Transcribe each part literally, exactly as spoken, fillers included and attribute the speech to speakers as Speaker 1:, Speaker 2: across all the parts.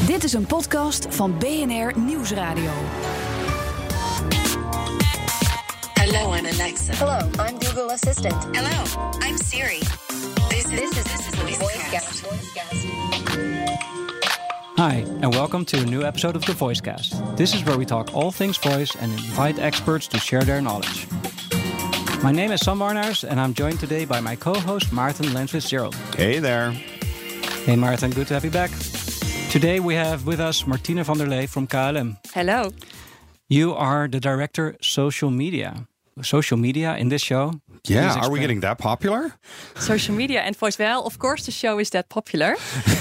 Speaker 1: Dit is een podcast van B N R Nieuwsradio.
Speaker 2: Hello, I'm Alexa.
Speaker 3: Hello, I'm Google Assistant.
Speaker 2: Hello, I'm Siri. This is,
Speaker 3: This is,
Speaker 2: this is
Speaker 3: the
Speaker 2: VoiceCast.
Speaker 3: VoiceCast.
Speaker 4: Hi, and welcome to a new episode of the VoiceCast. This is where we talk all things voice and invite experts to share their knowledge. My name is Sam Warnaars, and I'm joined today by my co-host Maarten Lenswitz-Gerald.
Speaker 5: Hey there.
Speaker 4: Hey Maarten, good to have you back. Today we have with us Martine van der Lee from K L M.
Speaker 6: Hello.
Speaker 4: You are the director social media. Social media in this show.
Speaker 5: Yeah,
Speaker 4: Please
Speaker 5: are we
Speaker 4: explain.
Speaker 5: getting that popular?
Speaker 6: Social media and voice. Well, of course, the show is that popular.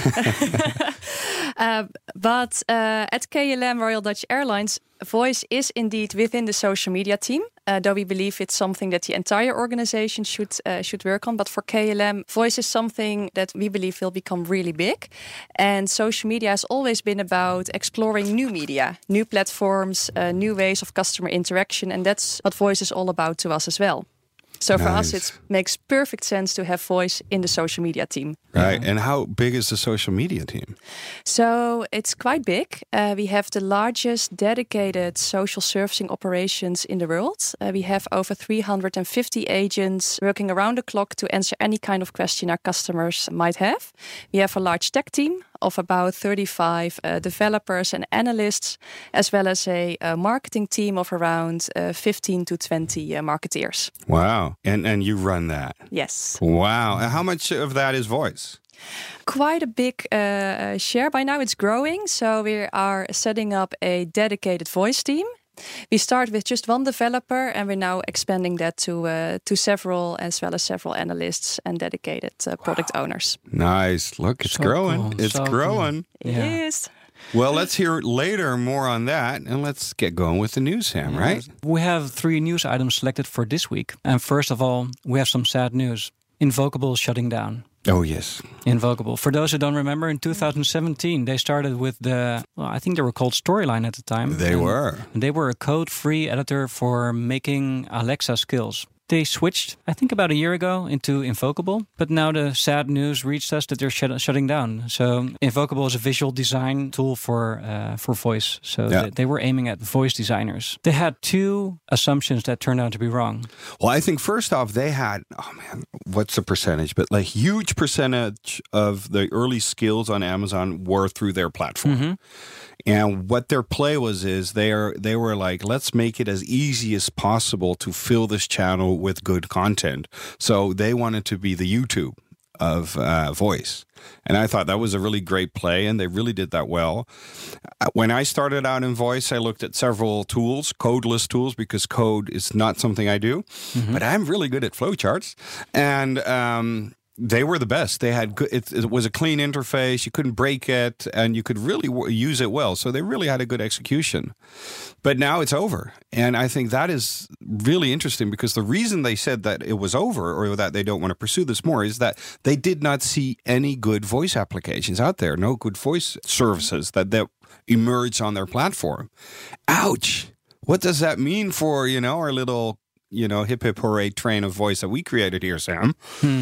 Speaker 6: uh, but uh, at K L M Royal Dutch Airlines, voice is indeed within the social media team. Uh, though we believe it's something that the entire organization should uh, should work on. But for K L M, voice is something that we believe will become really big. And social media has always been about exploring new media, new platforms, uh, new ways of customer interaction. And that's what voice is all about to us as well. So for us,
Speaker 5: Nice.
Speaker 6: it makes perfect sense to have voice in the social media team.
Speaker 5: Right. And how big is the social media team?
Speaker 6: So it's quite big. Uh, we have the largest dedicated social servicing operations in the world. Uh, we have over three hundred fifty agents working around the clock to answer any kind of question our customers might have. We have a large tech team of about thirty-five uh, developers and analysts, as well as a, a marketing team of around uh, fifteen to twenty uh, marketeers.
Speaker 5: Wow. And and you run that.
Speaker 6: Yes.
Speaker 5: Wow. And how much of that is voice?
Speaker 6: Quite a big uh, share by now. It's growing. So we are setting up a dedicated voice team. We start with just one developer, and we're now expanding that to uh, to several, as well as several analysts and dedicated uh, product owners.
Speaker 5: Nice. Look, it's
Speaker 4: So
Speaker 5: growing.
Speaker 4: cool.
Speaker 5: It's
Speaker 4: So
Speaker 5: growing.
Speaker 6: It
Speaker 4: Yeah.
Speaker 6: is.
Speaker 5: Well, let's hear later more on that. And let's get going with the news, Sam, right?
Speaker 4: We have three news items selected for this week. And first of all, we have some sad news. Invocable is shutting down.
Speaker 5: Oh, yes.
Speaker 4: Invocable. For those who don't remember, in two thousand seventeen, they started with the, well, I think they were called Storyline at the time.
Speaker 5: They
Speaker 4: And-
Speaker 5: were.
Speaker 4: and they were a code-free editor for making Alexa skills. They switched, I think about a year ago, into Invocable. But now the sad news reached us that they're shut- shutting down. So Invocable is a visual design tool for uh, for voice. So
Speaker 5: Yeah.
Speaker 4: they, they were aiming at voice designers. They had two assumptions that turned out to be wrong.
Speaker 5: Well, I think first off, they had, oh man, what's the percentage? But like huge percentage of the early skills on Amazon were through their platform.
Speaker 4: Mm-hmm.
Speaker 5: And what their play was is they are they were like, let's make it as easy as possible to fill this channel with good content. So they wanted to be the YouTube of uh, voice. And I thought that was a really great play, and they really did that well. Uh, When I started out in voice, I looked at several tools, codeless tools, because code is not something I do. But I'm really good at flowcharts. And um, they were the best. They had good, it, it was a clean interface. You couldn't break it, and you could really w- use it well. So they really had a good execution. But now it's over, and I think that is really interesting, because the reason they said that it was over, or that they don't want to pursue this more, is that they did not see any good voice applications out there. No good voice services that that emerge on their platform. Ouch! What does that mean for, you know, our little, you know, hip hip hooray train of voice that we created here, Sam?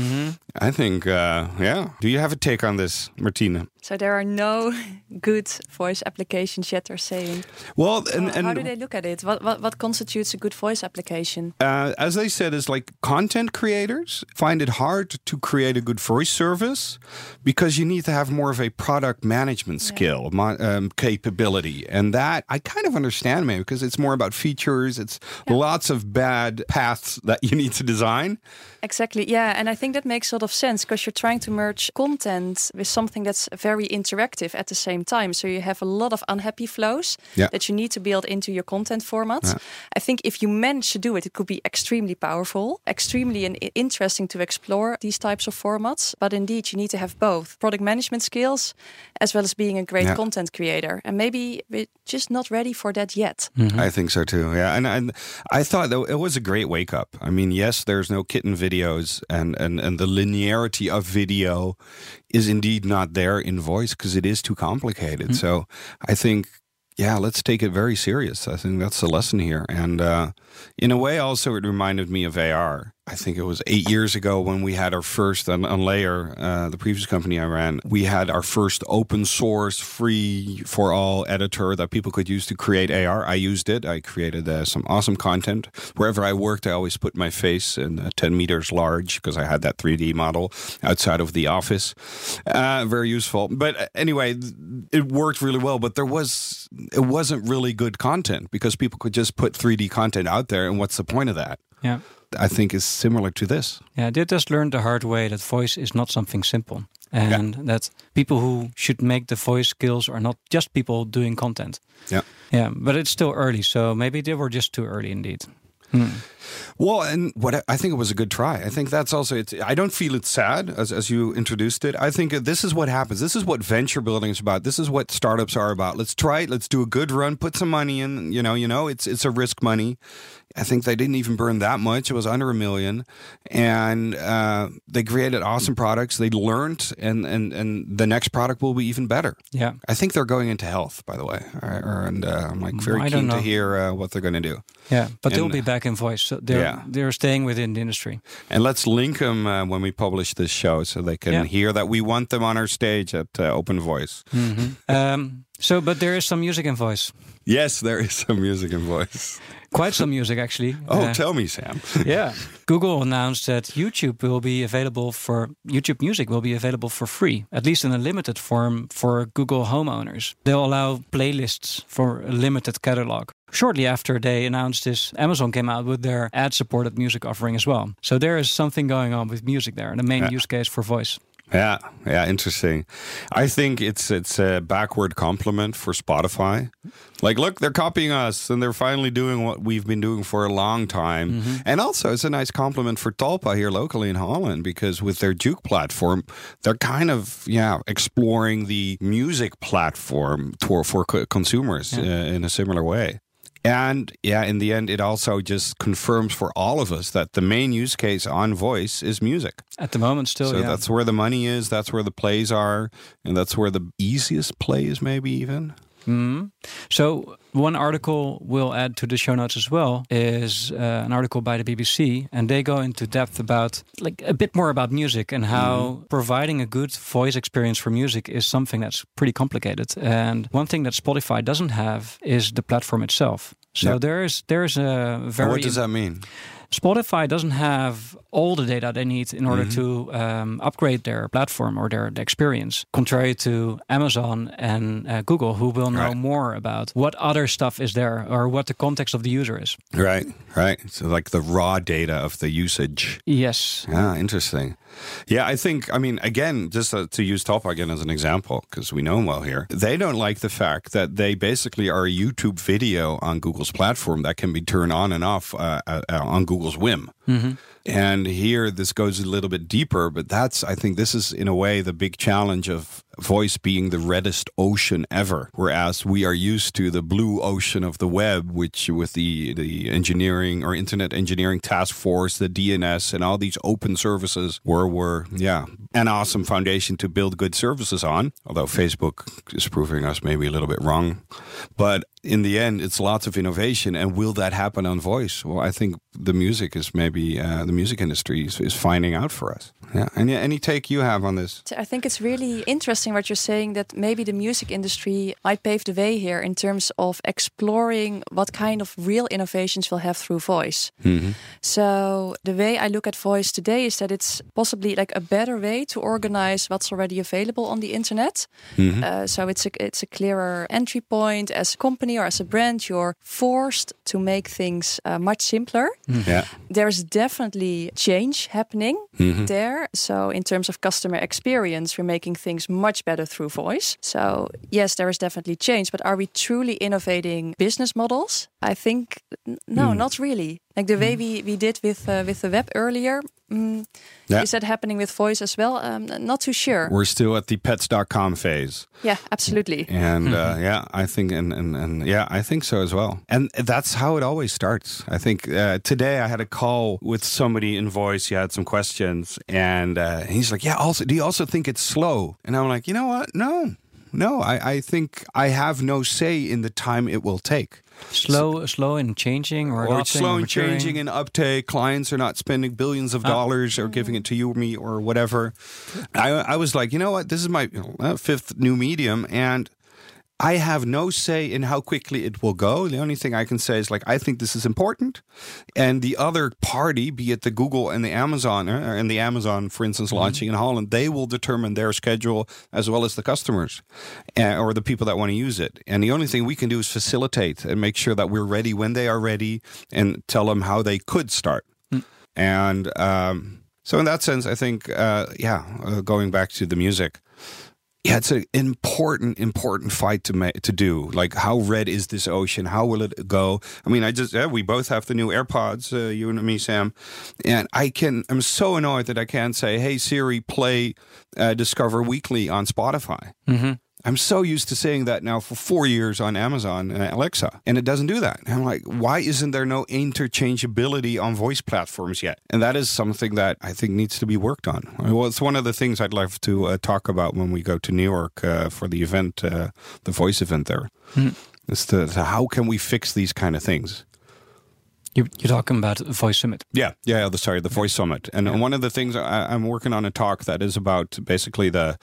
Speaker 5: I think, uh, yeah. Do you have a take on this, Martina?
Speaker 6: So there are no good voice applications yet, they're saying.
Speaker 5: Well, and,
Speaker 6: How- How
Speaker 5: and
Speaker 6: do they look at it? What, what what constitutes a good voice application?
Speaker 5: uh, as they said, is like content creators find it hard to create a good voice service because you need to have more of a product management skill, mo- um, capability. And that I kind of understand, maybe, because it's more about features. It's lots of bad paths that you need to design.
Speaker 6: Exactly, yeah. And I think that makes a lot of sense, because you're trying to merge content with something that's very interactive at the same time. So you have a lot of unhappy flows
Speaker 5: Yeah.
Speaker 6: that you need to build into your content format.
Speaker 5: Yeah.
Speaker 6: I think if you manage to do it, it could be extremely powerful, extremely in- interesting to explore these types of formats. But indeed, you need to have both product management skills as well as being a great
Speaker 5: Yeah.
Speaker 6: content creator. And maybe we're just not ready for that yet.
Speaker 5: I think so too. Yeah, and, and I thought that it was a great wake up. I mean, yes, there's no kitten videos, and and and the linearity of video is indeed not there in voice because it is too complicated. So I think, yeah, let's take it very serious. I think that's the lesson here. And uh, in a way, also, it reminded me of A R. I think it was eight years ago when we had our first on, on Layer, uh, the previous company I ran. We had our first open source, free for all editor that people could use to create A R. I used it. I created uh, some awesome content. Wherever I worked, I always put my face in uh, ten meters large because I had that three D model outside of the office. Uh, very useful. But anyway, it worked really well. But there was it wasn't really good content because people could just put three D content out there, and what's the point of that?
Speaker 4: Yeah.
Speaker 5: I think is similar to this.
Speaker 4: Yeah, they just learned the hard way that voice is not something simple. And yeah. that people who should make the voice skills are not just people doing content.
Speaker 5: Yeah.
Speaker 4: Yeah, but it's still early, so maybe they were just too early indeed. Hmm.
Speaker 5: Well, and what I, I think it was a good try. I think that's also, it's, I don't feel it's sad as, as you introduced it. I think this is what happens. This is what venture building is about. This is what startups are about. Let's try it. Let's do a good run, put some money in, you know, you know, it's, it's a risk money. I think they didn't even burn that much. It was under a million. And uh, they created awesome products. They learned, and, and, and the next product will be even better.
Speaker 4: Yeah.
Speaker 5: I think they're going into health, by the way. And uh, I'm like very
Speaker 4: I
Speaker 5: keen to hear uh, what they're going to do.
Speaker 4: Yeah, but
Speaker 5: and,
Speaker 4: they'll be back in voice. So they're,
Speaker 5: yeah.
Speaker 4: they're staying within the industry.
Speaker 5: And let's link them uh, when we publish this show so they can
Speaker 4: yeah.
Speaker 5: hear that we want them on our stage at uh, Open Voice.
Speaker 4: Mm-hmm. um, so, but there is some music in voice.
Speaker 5: Yes, there is some music in voice.
Speaker 4: Quite some music, actually.
Speaker 5: Oh,
Speaker 4: uh,
Speaker 5: tell me, Sam.
Speaker 4: Yeah. Google announced that YouTube will be available for, YouTube Music will be available for free, at least in a limited form for Google homeowners. They'll allow playlists for a limited catalog. Shortly after they announced this, Amazon came out with their ad-supported music offering as well. So there is something going on with music there, the main
Speaker 5: yeah.
Speaker 4: use case for voice.
Speaker 5: Yeah, yeah, interesting. I think it's it's a backward compliment for Spotify. Like, look, they're copying us, and they're finally doing what we've been doing for a long time. Mm-hmm. And also, it's a nice compliment for Talpa here locally in Holland, because with their Juke platform, they're kind of, yeah, exploring the music platform for, for co- consumers yeah. uh, in a similar way. And yeah, in the end, it also just confirms for all of us that the main use case on voice is music.
Speaker 4: At the moment, still,
Speaker 5: so
Speaker 4: yeah.
Speaker 5: that's where the money is, that's where the plays are, and that's where the easiest play is, maybe even.
Speaker 4: Mm-hmm. So one article we'll add to the show notes as well is uh, an article by the B B C, and they go into depth about like a bit more about music and how mm-hmm. providing a good voice experience for music is something that's pretty complicated. And one thing that Spotify doesn't have is the platform itself. So yep. there is there's a very.
Speaker 5: What does that mean?
Speaker 4: Spotify doesn't have all the data they need in order mm-hmm. to um, upgrade their platform or their, their experience, contrary to Amazon and uh, Google, who will know right. more about what other stuff is there or what the context of the user is.
Speaker 5: Right, right. So like the raw data of the usage.
Speaker 4: Yes.
Speaker 5: Yeah, interesting. Yeah, I think, I mean, again, just uh, to use Talpa again as an example, because we know them well here, they don't like the fact that they basically are a YouTube video on Google's platform that can be turned on and off uh, uh, on Google's whim. Mm-hmm. And here, this goes a little bit deeper, but that's, I think this is in a way the big challenge of voice being the reddest ocean ever, whereas we are used to the blue ocean of the web, which with the, the engineering or internet engineering task force, the D N S and all these open services were, were yeah, an awesome foundation to build good services on, although Facebook is proving us maybe a little bit wrong. But in the end, it's lots of innovation. And will that happen on voice? Well, I think the music is maybe, uh, the music industry is, is finding out for us. Yeah. Any, any take you have on this?
Speaker 6: I think it's really interesting what you're saying, that maybe the music industry might pave the way here in terms of exploring what kind of real innovations we'll have through voice. Mm-hmm. So the way I look at voice today is that it's possibly like a better way to organize what's already available on the internet. Mm-hmm. Uh, so it's a, it's a clearer entry point. As a company or as a brand, you're forced to make things uh, much simpler.
Speaker 5: Mm-hmm. Yeah.
Speaker 6: There's definitely change happening mm-hmm. there. So in terms of customer experience, we're making things much better through voice. So yes, there is definitely change, but are we truly innovating business models? I think no, mm. not really. Like the way we, we did with uh, with the web earlier. Mm, yeah. Is that happening with voice as well? Um, not too sure.
Speaker 5: We're still at the pets dot com phase.
Speaker 6: Yeah, absolutely.
Speaker 5: And uh, yeah, I think, and, and, and yeah, I think so as well. And that's how it always starts. I think uh, today I had a call with somebody in voice. He had some questions, and uh, he's like, "Yeah, also, do you also think it's slow?" And I'm like, "You know what? No." no. I, I think I have no say in the time it will take.
Speaker 4: Slow, slow in changing or,
Speaker 5: Or it's
Speaker 4: adopting
Speaker 5: slow
Speaker 4: or
Speaker 5: in
Speaker 4: maturing.
Speaker 5: changing and uptake. Clients are not spending billions of
Speaker 4: Ah.
Speaker 5: dollars or giving it to you or me or whatever. I, I was like, you know what? This is my you know, fifth new medium, and I have no say in how quickly it will go. The only thing I can say is like, I think this is important. And the other party, be it the Google and the Amazon, uh, and the Amazon, for instance,
Speaker 4: Mm-hmm.
Speaker 5: launching in Holland, they will determine their schedule as well as the customers uh, or the people that want to use it. And the only thing we can do is facilitate and make sure that we're ready when they are ready and tell them how they could start.
Speaker 4: Mm.
Speaker 5: And um, so in that sense, I think, uh, yeah, uh, going back to the music, yeah, it's an important, important fight to ma- to do. Like, how red is this ocean? How will it go? I mean, I just yeah, we both have the new AirPods, uh, you and me, Sam, and I can. I'm so annoyed that I can't say, "Hey Siri, play uh, Discover Weekly on Spotify."
Speaker 4: Mm-hmm.
Speaker 5: I'm so used to saying that now for four years on Amazon uh, Alexa, and it doesn't do that. And I'm like, why isn't there no interchangeability on voice platforms yet? And that is something that I think needs to be worked on. Well, it's one of the things I'd love to uh, talk about when we go to New York uh, for the event, uh, the voice event there.
Speaker 4: Mm.
Speaker 5: Is to, to how can we fix these kind of things?
Speaker 4: You, you're talking about the Voice Summit.
Speaker 5: Yeah, yeah. The, sorry, the Voice Summit, and
Speaker 4: Yeah.
Speaker 5: one of the things I, I'm working on a talk that is about basically the.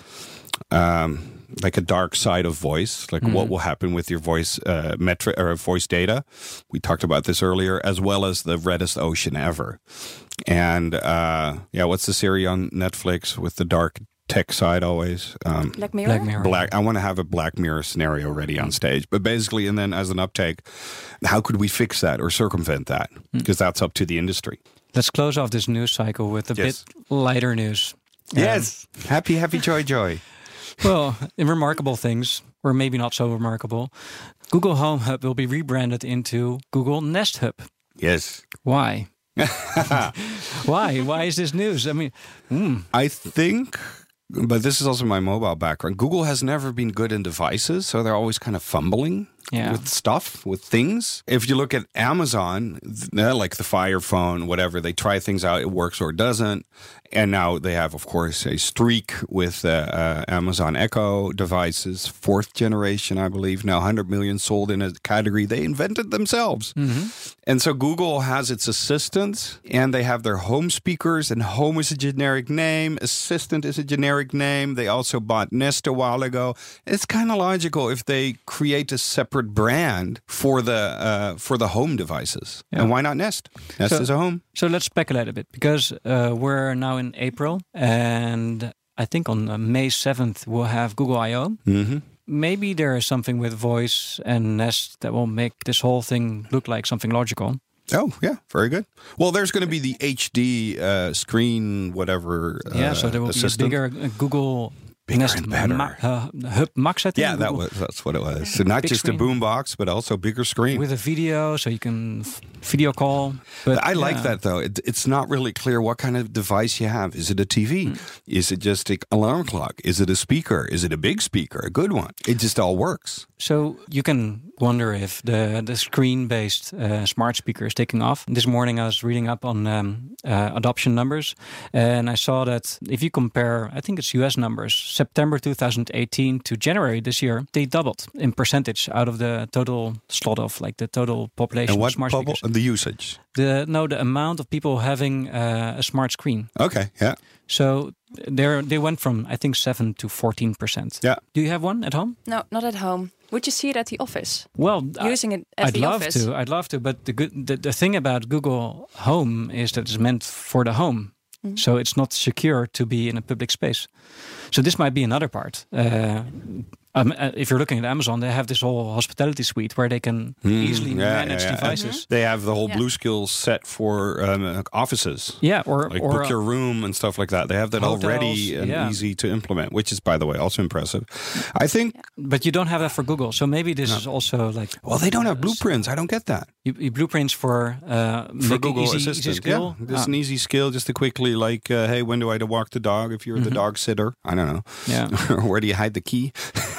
Speaker 5: Um, like a dark side of voice, like
Speaker 4: Mm-hmm.
Speaker 5: what will happen with your voice uh, metric or voice data. We talked about this earlier, as well as the reddest ocean ever. And uh, yeah, what's the series on Netflix with the dark tech side always? Um,
Speaker 6: Black Mirror.
Speaker 4: Black Mirror.
Speaker 5: Black. I want to have a Black Mirror scenario ready on stage, but basically, and then as an uptake, how could we fix that or circumvent that? Because that's up to the industry.
Speaker 4: Let's close off this news cycle with a
Speaker 5: Yes.
Speaker 4: bit lighter news.
Speaker 5: Yes, happy, happy, joy, joy.
Speaker 4: Well, in remarkable things, or maybe not so remarkable, Google Home Hub will be rebranded into Google Nest Hub.
Speaker 5: Yes.
Speaker 4: Why? Why? Why is this news? I mean, mm,
Speaker 5: I think, but this is also my mobile background. Google has never been good in devices, so they're always kind of fumbling
Speaker 4: Yeah.
Speaker 5: with stuff, with things. If you look at Amazon, th- like the Fire Phone, whatever, they try things out, it works or it doesn't. And now they have, of course, a streak with uh, uh, Amazon Echo devices, fourth generation, I believe, now one hundred million sold in a category they invented themselves. And so Google has its assistant, and they have their home speakers, and home is a generic name, assistant is a generic name. They also bought Nest a while ago. It's kind of logical if they create a separate brand for the uh, for the home devices.
Speaker 4: Yeah.
Speaker 5: And why not Nest? Nest
Speaker 4: So-
Speaker 5: is a home.
Speaker 4: so let's speculate a bit because uh, we're now in April, and I think on uh, May seventh we'll have Google I O.
Speaker 5: Mm-hmm.
Speaker 4: Maybe there is something with voice and Nest that will make this whole thing look like something logical.
Speaker 5: Oh, yeah, very good. Well, there's going to be the H D uh, screen, whatever. Uh,
Speaker 4: Yeah, so there will
Speaker 5: assistant.
Speaker 4: be a bigger uh, Google
Speaker 5: Bigger
Speaker 4: Nest
Speaker 5: and better.
Speaker 4: Ma- uh, Hub Max, I think.
Speaker 5: Yeah, that
Speaker 4: Google-
Speaker 5: was that's what it was. So not
Speaker 4: Big
Speaker 5: just
Speaker 4: screen.
Speaker 5: a boombox, but also bigger screen.
Speaker 4: with a video, so you can f- video call. But
Speaker 5: I like
Speaker 4: yeah.
Speaker 5: that though. It, it's not really clear what kind of device you have. Is it a T V?
Speaker 4: Hmm.
Speaker 5: Is it just an alarm clock? Is it a speaker? Is it a big speaker? A good one? It just all works.
Speaker 4: So you can wonder if the the screen-based uh, smart speaker is taking off. This morning I was reading up on um, uh, adoption numbers, and I saw that if you compare, I think it's U S numbers, September two thousand eighteen to January this year, they doubled in percentage out of the total slot of like the total population
Speaker 5: And
Speaker 4: of
Speaker 5: what
Speaker 4: smart
Speaker 5: bubble?
Speaker 4: speakers.
Speaker 5: The usage.
Speaker 4: The no, the amount of people having uh, a smart screen.
Speaker 5: Okay. Yeah.
Speaker 4: So they they went from I think seven to fourteen percent.
Speaker 5: Yeah.
Speaker 4: Do you have one at home?
Speaker 6: No, not at home. Would you see it at the office?
Speaker 4: Well, I-
Speaker 6: Using it at
Speaker 4: I'd
Speaker 6: the
Speaker 4: love
Speaker 6: office?
Speaker 4: to. I'd love to. But the good the, the thing about Google Home is that it's meant for the home,
Speaker 6: Mm-hmm.
Speaker 4: so it's not secure to be in a public space. So this might be another part. Uh, um, uh, if you're looking at Amazon, they have this whole hospitality suite where they can easily
Speaker 5: Hmm, yeah,
Speaker 4: manage
Speaker 5: yeah, yeah.
Speaker 4: devices.
Speaker 5: They have the whole
Speaker 6: Yeah.
Speaker 5: Blue Skills set for um, offices.
Speaker 4: Yeah, or
Speaker 5: Like
Speaker 4: or
Speaker 5: book your room and stuff like that. They have that
Speaker 4: hotels,
Speaker 5: already and
Speaker 4: yeah.
Speaker 5: easy to implement, which is, by the way, also impressive. I think.
Speaker 4: but you don't have that for Google. So maybe this is also like
Speaker 5: Well, they don't have blueprints. I don't get that.
Speaker 4: you, you blueprints for uh,
Speaker 5: For
Speaker 4: making
Speaker 5: Google
Speaker 4: easy,
Speaker 5: Assistant,
Speaker 4: easy skill.
Speaker 5: yeah, just
Speaker 4: Ah,
Speaker 5: an easy skill, just to quickly like, uh, hey, when do I walk the dog? If you're the dog sitter, I don't know.
Speaker 4: yeah.
Speaker 5: Where do you hide the key?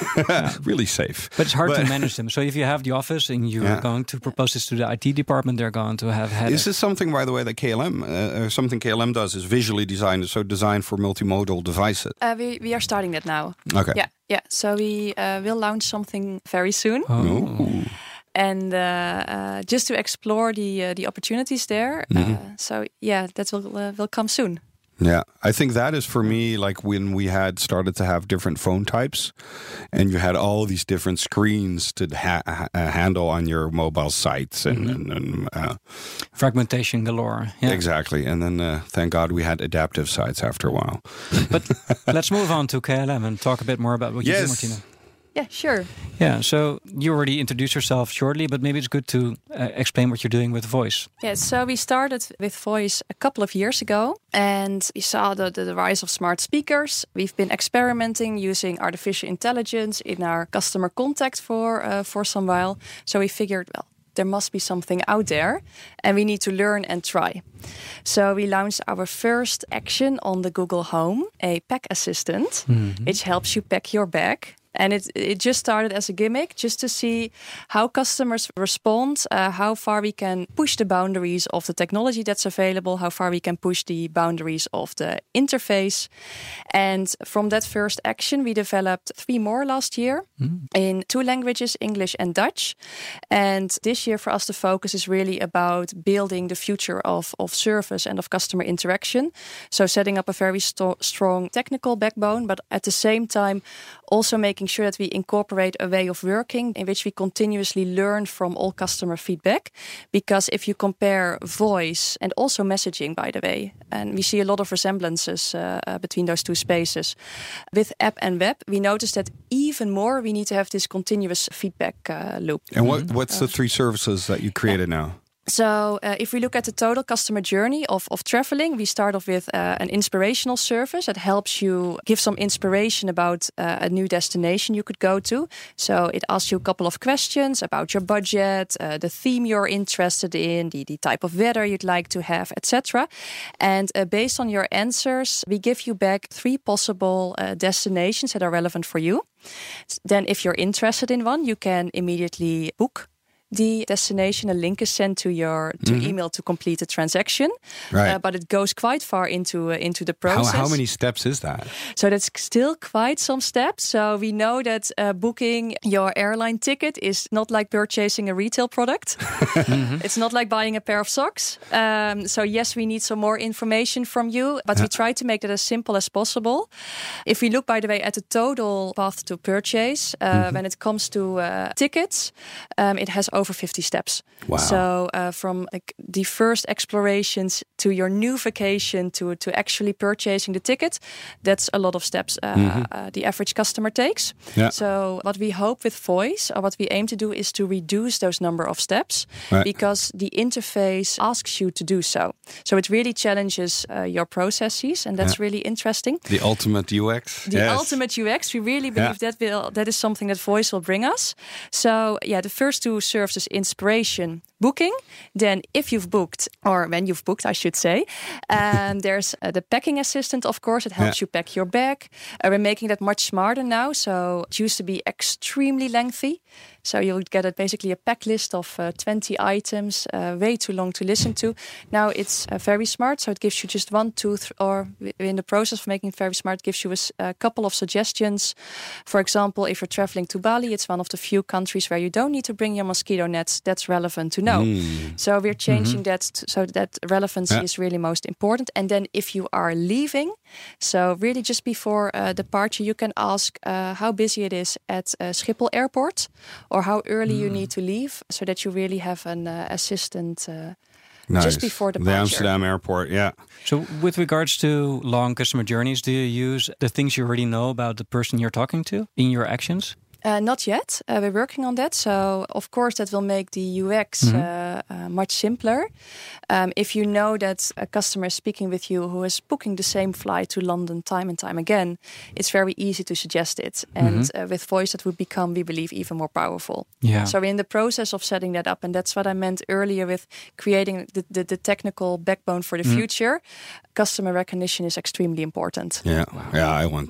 Speaker 5: really safe.
Speaker 4: But it's hard to manage them. So if you have the office and you're yeah. going to propose this to the I T department, they're going to have headache.
Speaker 5: Is this something, by the way, that K L M, uh, something K L M does is visually designed, so designed for multimodal devices?
Speaker 6: Uh, we, we are starting that now.
Speaker 5: Okay.
Speaker 6: Yeah, yeah. So we uh, will launch something very soon.
Speaker 4: Oh.
Speaker 6: And uh, uh, just to explore the uh, the opportunities there. Mm-hmm. Uh, so yeah, that will uh, will come soon.
Speaker 5: Yeah, I think that is for me like when we had started to have different phone types and you had all these different screens to ha- ha- handle on your mobile sites and, mm-hmm. and, and uh,
Speaker 4: fragmentation galore. Yeah.
Speaker 5: Exactly. And then uh, thank God we had adaptive sites after a while.
Speaker 4: But let's move on to K L M and talk a bit more about what you
Speaker 5: yes.
Speaker 4: do, Martina.
Speaker 6: Yeah, sure.
Speaker 4: Yeah, so you already introduced yourself shortly, but maybe it's good to uh, explain what you're doing with Voice.
Speaker 6: Yeah, so we started with Voice a couple of years ago, and we saw the, the, the rise of smart speakers. We've been experimenting using artificial intelligence in our customer contact for uh, for some while. So we figured, well, there must be something out there, and we need to learn and try. So we launched our first action on the Google Home, a pack assistant, mm-hmm. which helps you pack your bag. And it it just started as a gimmick, just to see how customers respond, uh, how far we can push the boundaries of the technology that's available, how far we can push the boundaries of the interface. And from that first action, we developed three more last year mm. in two languages, English and Dutch. And this year for us, the focus is really about building the future of, of service and of customer interaction. So setting up a very st- strong technical backbone, but at the same time, also making sure that we incorporate a way of working in which we continuously learn from all customer feedback. Because if you compare voice and also messaging, by the way, and we see a lot of resemblances uh, uh, between those two spaces. With app and web, we notice that even more we need to have this continuous feedback uh, loop.
Speaker 5: And what, what's uh, the three services that you created yeah. now?
Speaker 6: So uh, if we look at the total customer journey of, of traveling, we start off with uh, an inspirational service that helps you give some inspiration about uh, a new destination you could go to. So it asks you a couple of questions about your budget, uh, the theme you're interested in, the, the type of weather you'd like to have, et cetera. And uh, based on your answers, we give you back three possible uh, destinations that are relevant for you. Then if you're interested in one, you can immediately book the destination. A link is sent to your to mm-hmm. email to complete the transaction.
Speaker 5: Right.
Speaker 6: Uh, but it goes quite far into uh, into the process.
Speaker 5: How, how many steps is that?
Speaker 6: So that's still quite some steps. So we know that uh, booking your airline ticket is not like purchasing a retail product. mm-hmm. It's not like buying a pair of socks. Um, so yes, we need some more information from you, but yeah. we try to make that as simple as possible. If we look, by the way, at the total path to purchase, uh, mm-hmm. when it comes to uh, tickets, um, it has over fifty steps.
Speaker 5: Wow.
Speaker 6: So uh, from like the first explorations to your new vacation to, to actually purchasing the ticket, that's a lot of steps uh, mm-hmm. uh, the average customer takes.
Speaker 5: Yeah.
Speaker 6: So what we hope with Voice, or what we aim to do, is to reduce those number of steps right. because the interface asks you to do so. So it really challenges uh, your processes, and that's yeah. really interesting.
Speaker 5: The ultimate U X.
Speaker 6: The yes. ultimate U X. We really believe yeah. that will that is something that Voice will bring us. So yeah, the first two serve as inspiration, booking. Then if you've booked, or when you've booked, I should say, um, there's uh, the packing assistant, of course. It helps yeah. you pack your bag. Uh, we're making that much smarter now. So it used to be extremely lengthy. So you would get a, basically a pack list of uh, twenty items, uh, way too long to listen to. Now it's uh, very smart. So it gives you just one, two, th- or in the process of making it very smart, it gives you a, a couple of suggestions. For example, if you're traveling to Bali, it's one of the few countries where you don't need to bring your mosquito nets. That's relevant to know. Mm. So we're changing mm-hmm. that t- so that relevancy yeah. is really most important. And then if you are leaving, so really just before uh, departure, you can ask uh, how busy it is at uh, Schiphol Airport, or how early mm. you need to leave, so that you really have an uh, assistant uh, nice. just before departure.
Speaker 5: The Amsterdam airport, yeah.
Speaker 4: So with regards to long customer journeys, do you use the things you already know about the person you're talking to in your actions?
Speaker 6: Uh, not yet. Uh, we're working on that. So, of course, that will make the U X mm-hmm. uh, uh, much simpler. Um, if you know that a customer is speaking with you who is booking the same flight to London time and time again, it's very easy to suggest it. And mm-hmm. uh, with Voice, that would become, we believe, even more powerful.
Speaker 4: Yeah.
Speaker 6: So we're in the process of setting that up. And that's what I meant earlier with creating the, the, the technical backbone for the mm. future. Customer recognition is extremely important.
Speaker 5: Yeah, wow. yeah, I want that.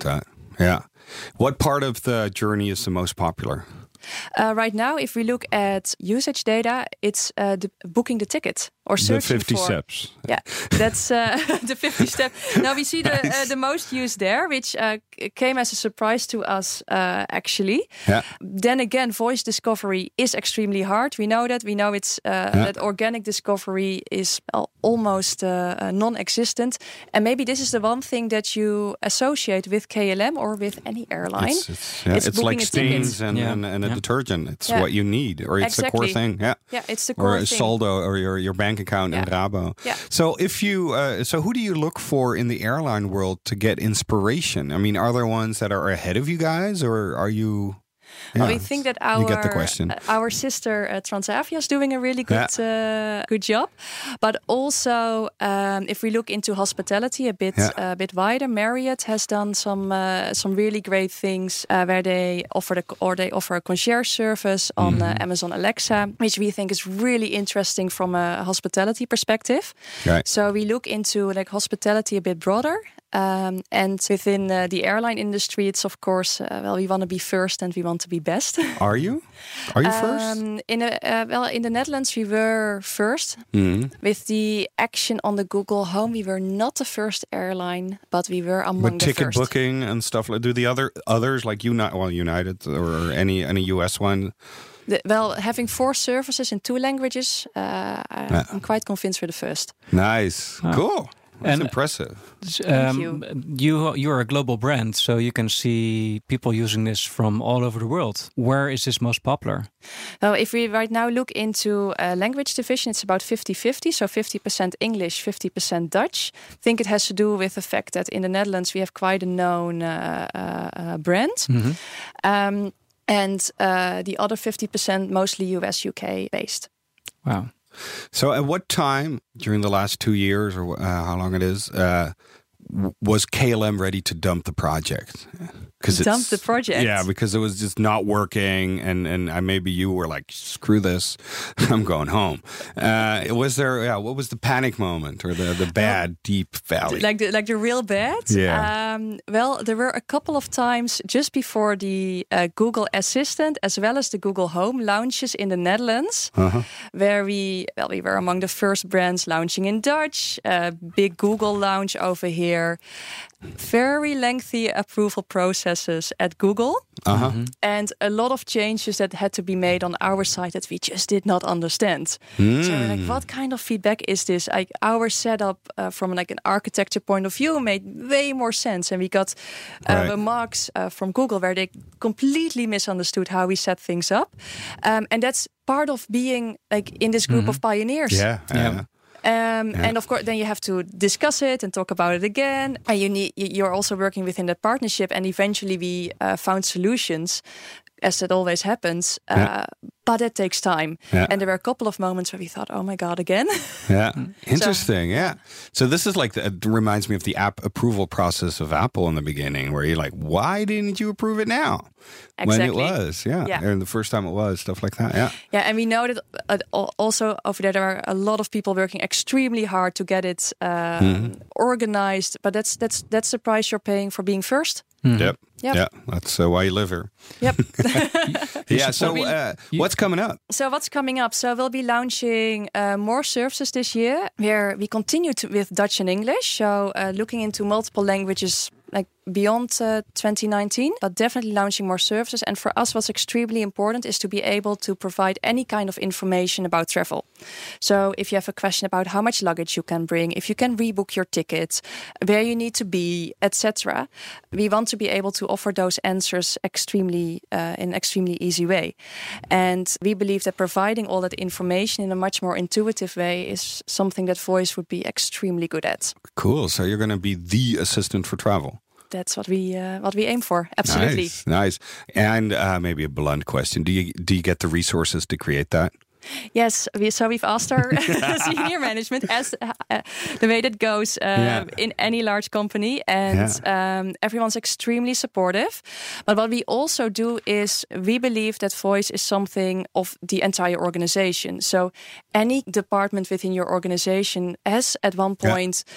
Speaker 5: Yeah. What part of the journey is the most popular?
Speaker 6: Uh, right now, if we look at usage data, it's uh, the, booking the ticket or
Speaker 5: The
Speaker 6: searching
Speaker 5: fifty
Speaker 6: for.
Speaker 5: steps.
Speaker 6: Yeah, that's uh, the fifty step. Now we see the uh, the most used there, which uh, came as a surprise to us uh, actually.
Speaker 5: Yeah.
Speaker 6: Then again, voice discovery is extremely hard. We know that. We know it's uh,
Speaker 5: Yeah.
Speaker 6: that organic discovery is al- almost uh, uh, non-existent. And maybe this is the one thing that you associate with K L M or with any airline.
Speaker 5: It's, it's, yeah,
Speaker 6: It's
Speaker 5: it's
Speaker 6: booking
Speaker 5: like
Speaker 6: a ticket.
Speaker 5: stains and,
Speaker 4: Yeah.
Speaker 5: and, and a
Speaker 4: Yeah.
Speaker 5: detergent. It's
Speaker 6: Yeah.
Speaker 5: what you need, or it's the core
Speaker 6: Exactly.
Speaker 5: thing. Yeah.
Speaker 6: Yeah, it's the
Speaker 5: Or
Speaker 6: core
Speaker 5: a
Speaker 6: thing.
Speaker 5: saldo, or your, your bank account in
Speaker 6: Yeah.
Speaker 5: Rabo.
Speaker 6: Yeah.
Speaker 5: So if you, uh, so who do you look for in the airline world to get inspiration? I mean, are there ones that are ahead of you guys, or are you? Yeah,
Speaker 6: we think that our
Speaker 5: you get the question.
Speaker 6: uh, our sister uh, Transavia is doing a really good uh, good job, but also um, if we look into hospitality a bit
Speaker 5: Yeah.
Speaker 6: a bit wider, Marriott has done some uh, some really great things uh, where they offer the or they offer a concierge service on
Speaker 5: Mm-hmm.
Speaker 6: uh, Amazon Alexa, which we think is really interesting from a hospitality perspective.
Speaker 5: Right.
Speaker 6: So we look into like hospitality a bit broader. Um, and within uh, the airline industry, it's of course, uh, well, we want to be first and we want to be best.
Speaker 5: Are you? Are you first?
Speaker 6: Um, in a, uh, well, in the Netherlands, we were first.
Speaker 5: Mhm.
Speaker 6: With the action on the Google Home, we were not the first airline, but we were among
Speaker 5: With
Speaker 6: the
Speaker 5: ticket
Speaker 6: first.
Speaker 5: booking and stuff like, do the other others like United, well, United or any any U S one?
Speaker 6: The, well, having four services in two languages, uh, I-
Speaker 5: Yeah.
Speaker 6: I'm quite convinced we're the first.
Speaker 5: Nice,
Speaker 4: Ah.
Speaker 5: cool. That's
Speaker 4: And-
Speaker 5: impressive.
Speaker 4: Um,
Speaker 6: you.
Speaker 4: you you're a global brand, so you can see people using this from all over the world. Where is this most popular?
Speaker 6: Well, if we right now look into a language division, it's about fifty-fifty. So fifty percent English, fifty percent Dutch. I think it has to do with the fact that in the Netherlands we have quite a known uh, uh, uh, brand. Um, and uh, the other fifty percent mostly U S, U K based.
Speaker 4: Wow.
Speaker 5: So, at what time during the last two years, or uh, how long it is, uh, w- was K L M ready to dump the project? Because
Speaker 6: Dump the project?
Speaker 5: Yeah, because it was just not working, and and uh, maybe you were like, "Screw this, I'm going home." Uh, was there? Yeah, what was the panic moment or the the bad deep valley?
Speaker 6: Like the like the real bad.
Speaker 5: Yeah.
Speaker 6: Um, well, there were a couple of times just before the uh, Google Assistant as well as the Google Home launches in the Netherlands,
Speaker 5: Uh-huh.
Speaker 6: where we well we were among the first brands launching in Dutch. Uh, big Google launch over here. Very lengthy approval processes at Google.
Speaker 5: Uh-huh.
Speaker 6: And a lot of changes that had to be made on our side that we just did not understand. So we're like, what kind of feedback is this? Like our setup uh, from like an architecture point of view made way more sense, and we got uh,
Speaker 5: Right.
Speaker 6: remarks uh, from Google where they completely misunderstood how we set things up, um, and that's part of being like in this group of pioneers.
Speaker 5: Yeah, yeah.
Speaker 6: Um, And of course, then you have to discuss it and talk about it again. And you need you- you're also working within that partnership. And eventually, we uh, found solutions, as that always happens. Uh,
Speaker 5: Yeah.
Speaker 6: But it takes time.
Speaker 5: Yeah.
Speaker 6: And there were a couple of moments where we thought, "Oh my god, again!"
Speaker 5: Yeah, interesting. Yeah, so this is like the, it reminds me of the app approval process of Apple in the beginning, where you're like, "Why didn't you approve it now?" When it
Speaker 6: Exactly.
Speaker 5: was, yeah,
Speaker 6: Yeah.
Speaker 5: and the first time it was, stuff like that. Yeah,
Speaker 6: Yeah, and we know that uh, al- also over there there are a lot of people working extremely hard to get it uh,
Speaker 5: Mm-hmm.
Speaker 6: organized. But that's that's that's the price you're paying for being first.
Speaker 5: yep,
Speaker 6: Yep.
Speaker 5: yeah. That's uh, why you live here.
Speaker 6: Yep.
Speaker 5: Yeah. So,
Speaker 6: we-
Speaker 5: uh, what's coming up?
Speaker 6: So what's coming up? So we'll be launching uh, more services this year, where we continue to, with Dutch and English. So uh, looking into multiple languages, like beyond uh, twenty nineteen, but definitely launching more services. And for us, what's extremely important is to be able to provide any kind of information about travel. So if you have a question about how much luggage you can bring, if you can rebook your tickets, where you need to be, et cetera, we want to be able to offer those answers extremely uh, in an extremely easy way. And we believe that providing all that information in a much more intuitive way is something that Voice would be extremely good at.
Speaker 5: Cool. So you're going to be the assistant for travel.
Speaker 6: That's what we uh, what we aim for. Absolutely.
Speaker 5: Nice, nice. And uh, maybe a blunt question: Do you do you get the resources to create that?
Speaker 6: Yes, we, so we've asked our senior management, as uh, the way that goes uh,
Speaker 5: Yeah.
Speaker 6: in any large company, and um, everyone's extremely supportive. But what we also do is we believe that Voice is something of the entire organization. So any department within your organization has at one point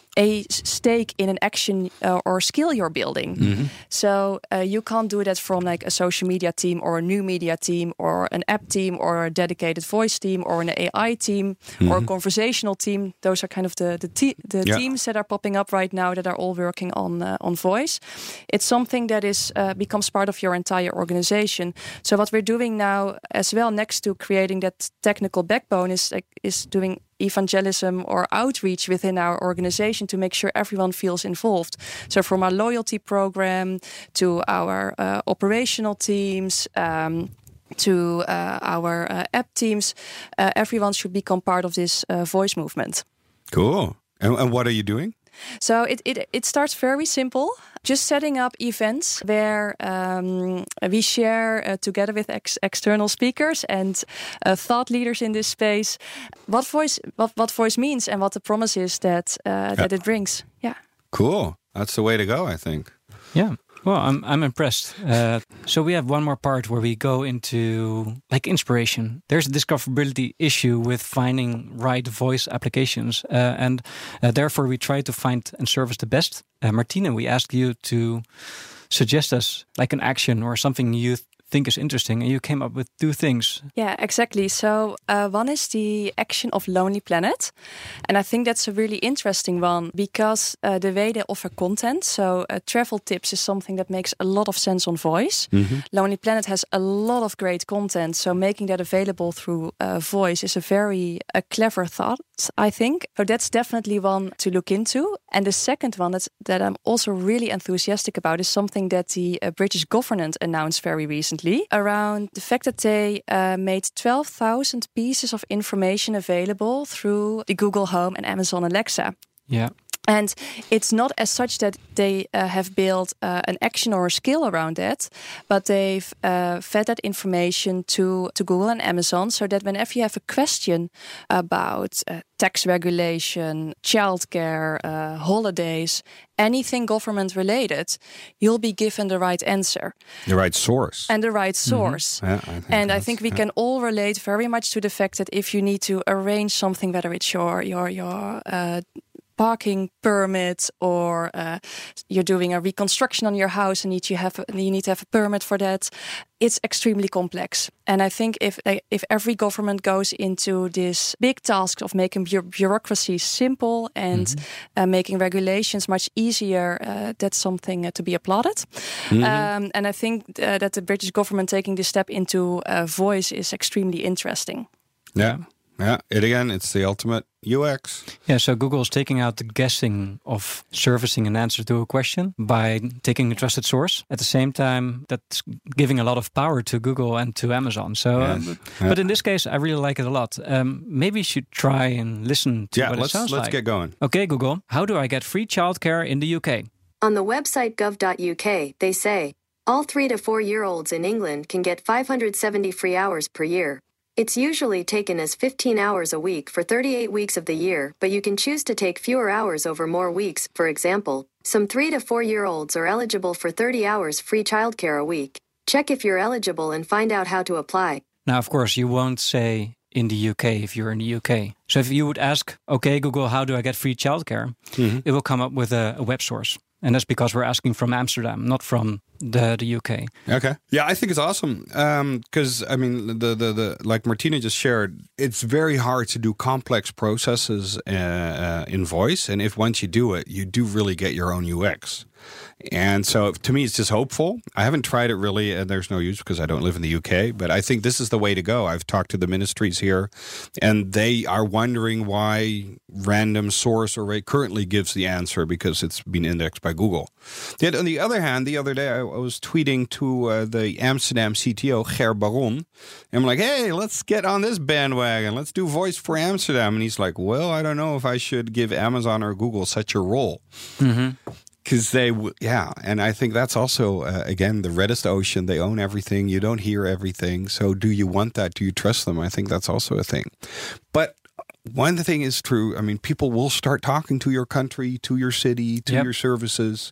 Speaker 6: a stake in an action uh, or skill you're building. Mm-hmm. So uh, you can't do that from like a social media team or a new media team or an app team or a dedicated voice team or an A I team mm-hmm. or a conversational team. Those are kind of the the, te- the yeah. teams that are popping up right now that are all working on uh, on voice. It's something that is uh, becomes part of your entire organization. So what we're doing now as well, next to creating that technical backbone, is like, is doing evangelism or outreach within our organization to make sure everyone feels involved. So from our loyalty program to our uh, operational teams, um, to uh, our uh, app teams, uh, everyone should become part of this uh, voice movement.
Speaker 5: Cool. And, and what are you doing?
Speaker 6: So it, it it starts very simple. Just setting up events where um, we share uh, together with ex- external speakers and uh, thought leaders in this space what voice what, what voice means and what the promise is that uh, yeah. that it brings. Yeah.
Speaker 5: Cool. That's the way to go, I think.
Speaker 4: Yeah. Well, I'm I'm impressed. Uh, so we have one more part where we go into like inspiration. There's a discoverability issue with finding right voice applications, uh, and uh, therefore we try to find and service the best. Uh, Martine, we asked you to suggest us like an action or something you th- think is interesting, and you came up with two things.
Speaker 6: Yeah, exactly. So uh, one is the action of Lonely Planet, and I think that's a really interesting one because uh, the way they offer content, so uh, travel tips is something that makes a lot of sense on voice. Mm-hmm. Lonely Planet has a lot of great content, so making that available through uh, voice is a very uh, clever thought, I think. So that's definitely one to look into. And the second one that's, that I'm also really enthusiastic about is something that the uh, British government announced very recently around the fact that they uh, made twelve thousand pieces of information available through the Google Home and Amazon Alexa.
Speaker 4: Yeah.
Speaker 6: And it's not as such that they uh, have built uh, an action or a skill around that, but they've uh, fed that information to, to Google and Amazon so that whenever you have a question about uh, tax regulation, childcare, uh, holidays, anything government related, you'll be given the right answer.
Speaker 5: The right source.
Speaker 6: And the right source.
Speaker 5: Mm-hmm. Yeah, I think
Speaker 6: and I think we
Speaker 5: yeah.
Speaker 6: can all relate very much to the fact that if you need to arrange something, whether it's your, your, your uh, parking permit or uh, you're doing a reconstruction on your house and need you have you need to have a permit for that, it's extremely complex. And I think if if every government goes into this big task of making bu- bureaucracy simple and mm-hmm. uh, making regulations much easier, uh, that's something uh, to be applauded. Mm-hmm. Um, and I think uh, that the British government taking this step into uh, voice is extremely interesting.
Speaker 5: Yeah. Yeah, it again, it's the ultimate U X.
Speaker 4: Yeah, so Google is taking out the guessing of servicing an answer to a question by taking a trusted source. At the same time, that's giving a lot of power to Google and to Amazon. So, yes. um, yeah. But in this case, I really like it a lot. Um, maybe you should try and listen to
Speaker 5: yeah,
Speaker 4: what
Speaker 5: let's,
Speaker 4: it sounds
Speaker 5: let's
Speaker 4: like.
Speaker 5: get going.
Speaker 4: Okay, Google, how do I get free childcare in the U K?
Speaker 7: On the website gov dot U K, they say, all three to four-year-olds in England can get five hundred seventy free hours per year. It's usually taken as fifteen hours a week for thirty-eight weeks of the year, but you can choose to take fewer hours over more weeks. For example, some three to four-year-olds are eligible for thirty hours free childcare a week. Check if you're eligible and find out how to apply.
Speaker 4: Now, of course, you won't say in the U K if you're in the U K. So if you would ask, okay, Google, how do I get free childcare? Mm-hmm. It will come up with a, a web source. And that's because we're asking from Amsterdam, not from the, the U K.
Speaker 5: Okay. Yeah, I think it's awesome. Because, um, I mean, the, the, the like Martina just shared, it's very hard to do complex processes uh, uh, in voice. And if once you do it, you do really get your own U X. And so to me, it's just hopeful. I haven't tried it really, and there's no use because I don't live in the U K. But I think this is the way to go. I've talked to the ministries here, and they are wondering why random source array currently gives the answer because it's been indexed by Google. Yet on the other hand, the other day I, I was tweeting to uh, the Amsterdam C T O, Ger Baron, and I'm like, hey, let's get on this bandwagon. Let's do voice for Amsterdam. And he's like, well, I don't know if I should give Amazon or Google such a role. Mm-hmm. Because they, yeah, and I think that's also, uh, again, the reddest ocean. They own everything. You don't hear everything. So do you want that? Do you trust them? I think that's also a thing. But one thing is true. I mean, people will start talking to your country, to your city, to yep. your services.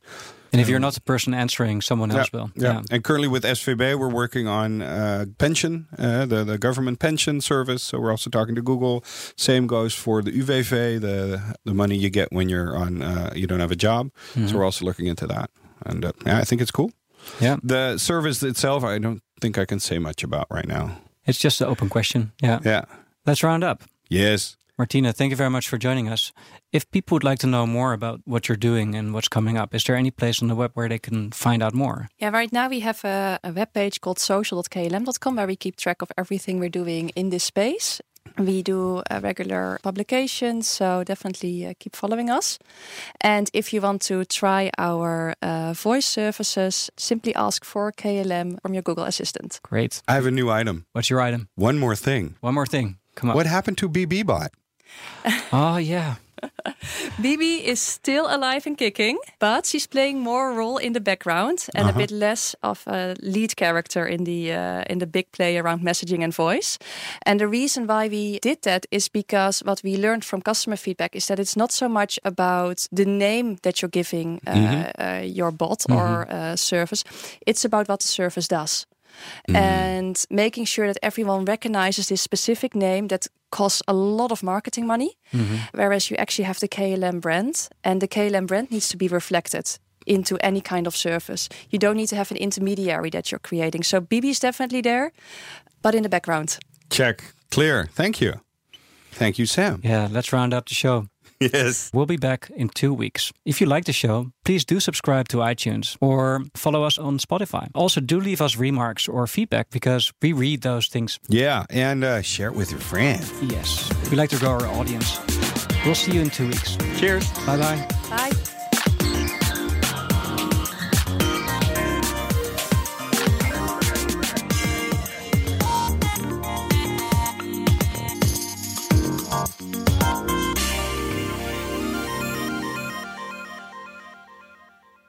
Speaker 4: And if you're not the person answering, someone else
Speaker 5: yeah,
Speaker 4: will.
Speaker 5: Yeah.
Speaker 4: Yeah.
Speaker 5: And currently with S V B, we're working on uh, pension, uh, the, the government pension service. So we're also talking to Google. Same goes for the U W V, the the money you get when you're on uh, you don't have a job.
Speaker 4: Mm-hmm.
Speaker 5: So we're also looking into that. And uh, yeah, I think it's cool.
Speaker 4: Yeah.
Speaker 5: The service itself, I don't think I can say much about right now.
Speaker 4: It's just an open question. Yeah.
Speaker 5: Yeah.
Speaker 4: Let's round up.
Speaker 5: Yes.
Speaker 4: Martina, thank you very much for joining us. If people would like to know more about what you're doing and what's coming up, is there any place on the web where they can find out more?
Speaker 6: Yeah, right now we have a, a webpage called social dot k l m dot com where we keep track of everything we're doing in this space. We do uh, regular publications, so definitely uh, keep following us. And if you want to try our uh, voice services, simply ask for K L M from your Google Assistant.
Speaker 4: Great.
Speaker 5: I have a new item.
Speaker 4: What's your item?
Speaker 5: One more thing.
Speaker 4: One more thing. Come on.
Speaker 5: What happened to B B Bot?
Speaker 4: Oh, yeah.
Speaker 6: B B is still alive and kicking, but she's playing more role in the background and
Speaker 5: Uh-huh.
Speaker 6: a bit less of a lead character in the uh, in the big play around messaging and voice. And the reason why we did that is because what we learned from customer feedback is that it's not so much about the name that you're giving uh,
Speaker 5: Mm-hmm.
Speaker 6: uh, your bot or uh, service. It's about what the service does. And making sure that everyone recognizes this specific name that costs a lot of marketing money, whereas you actually have the K L M brand, and the K L M brand needs to be reflected into any kind of service. You don't need to have an intermediary that you're creating. So B B is definitely there, but in the background.
Speaker 5: Check. Clear. Thank you. Thank you, Sam.
Speaker 4: Yeah, let's round up the show.
Speaker 5: Yes.
Speaker 4: We'll be back in two weeks. If you like the show, please do subscribe to iTunes or follow us on Spotify. Also, do leave us remarks or feedback because we read those things.
Speaker 5: Yeah, and uh, share it with your friends.
Speaker 4: Yes, we like to grow our audience. We'll see you in two weeks.
Speaker 5: Cheers.
Speaker 4: Bye-bye.
Speaker 6: Bye.